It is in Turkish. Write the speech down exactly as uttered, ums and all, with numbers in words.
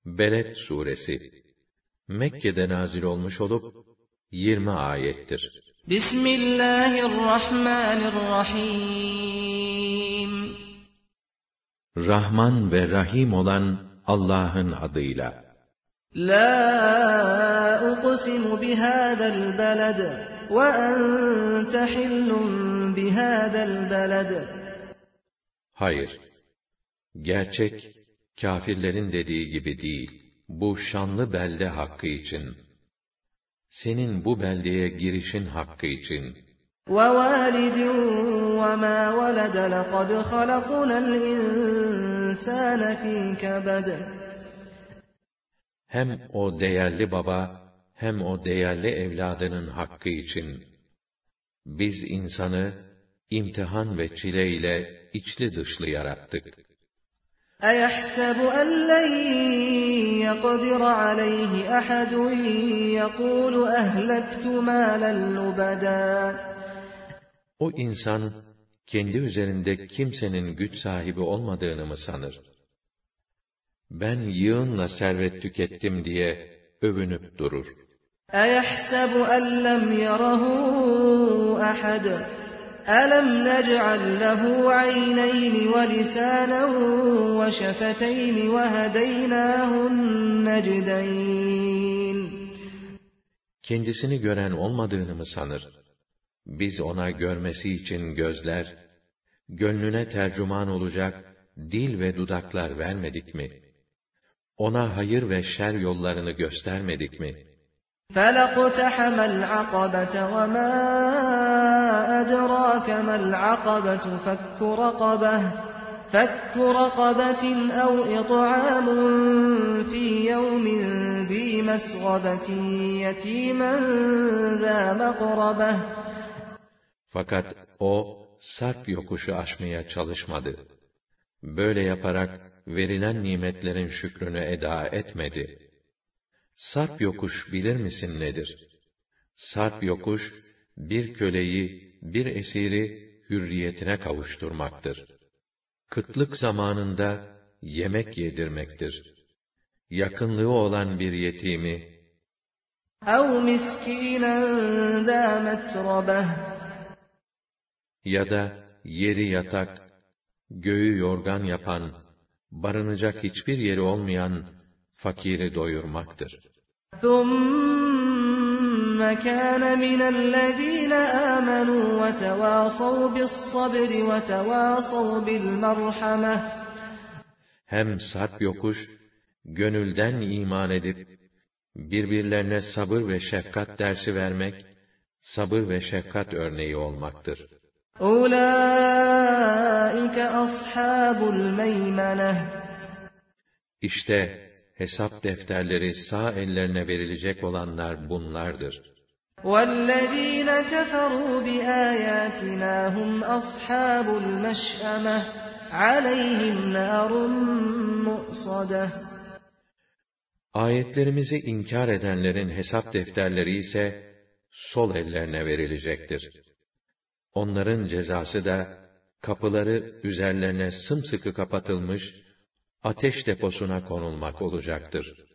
Beled suresi Mekke'de nazil olmuş olup yirmi ayettir. Bismillahirrahmanirrahim. Rahman ve Rahim olan Allah'ın adıyla. La uqsimu bihadal beled ve ente hillun bihadal beled. Hayır, gerçek kâfirlerin dediği gibi değil. Bu şanlı belde hakkı için, senin bu beldeye girişin hakkı için. وَوَالِدٍ وَمَا وَلَدَ لَقَدْ خَلَقْنَا الْإِنسَانَ فِي كَبَدٍ. Hem o değerli baba, hem o değerli evladının hakkı için, biz insanı imtihan ve çile ile içli dışlı yarattık. أَيَحْسَبُ أَنْ لَنْ يَقْدِرَ عَلَيْهِ أَحَدٌ يَقُولُ أَهْلَكْتُ مَالًا لُبَدًا. O insan, kendi üzerinde kimsenin güç sahibi olmadığını mı sanır? Ben yığınla servet tükettim diye övünüp durur. أَيَحْسَبُ أَنْ لَمْ يَرَهُ أَحَدٌ أَلَمْ نَجْعَلْ لَهُ عَيْنَيْنِ وَلِسَانًا وَشَفَتَيْنِ وَهَدَيْنَاهُ النَّجْدَيْنِ. Kendisini gören olmadığını mı sanır? Biz ona görmesi için gözler, gönlüne tercüman olacak dil ve dudaklar vermedik mi? Ona hayır ve şer yollarını göstermedik mi? فَلَقْتَحَمَ الْعَقَبَةَ وَمَا أَدْرَاكَ مَا الْعَقَبَةُ فَكُّ رَقَبَةٍ فَكُّ رَقَبَةٍ أَوْ إِطْعَامٌ فِي يَوْمٍ ذِي مَسْغَبَةٍ يَتِيمًا ذَا مَقْرَبَةٍ. Fakat o, sarp yokuşu aşmaya çalışmadı. Böyle yaparak verilen nimetlerin şükrünü eda etmedi. Sarp yokuş bilir misin nedir? Sarp yokuş, bir köleyi, bir esiri hürriyetine kavuşturmaktır. Kıtlık zamanında yemek yedirmektir. Yakınlığı olan bir yetimi, اَوْ مِسْكِينًا ذَا مَتْرَبَةٍ. ya da yeri yatak, göğü yorgan yapan, barınacak hiçbir yeri olmayan fakiri doyurmaktır. ثُمَّ كَانَ مِنَ الَّذ۪ينَ آمَنُوا وَتَوَاصَوْا بِالصَّبْرِ وَتَوَاصَوْا بِالْمَرْحَمَةِ. Hem sarp yokuş, gönülden iman edip, birbirlerine sabır ve şefkat dersi vermek, sabır ve şefkat örneği olmaktır. اُولَٰئِكَ أَصْحَابُ الْمَيْمَنَةِ. İşte hesap defterleri sağ ellerine verilecek olanlar bunlardır. وَالَّذ۪ينَ كَفَرُوا بِآيَاتِنَا هُمْ أَصْحَابُ الْمَشْأَمَةِ عَلَيْهِمْ نَارٌ مُؤْصَدَةٌ. Ayetlerimizi inkar edenlerin hesap defterleri ise sol ellerine verilecektir. Onların cezası da kapıları üzerlerine sımsıkı kapatılmış ateş deposuna konulmak olacaktır.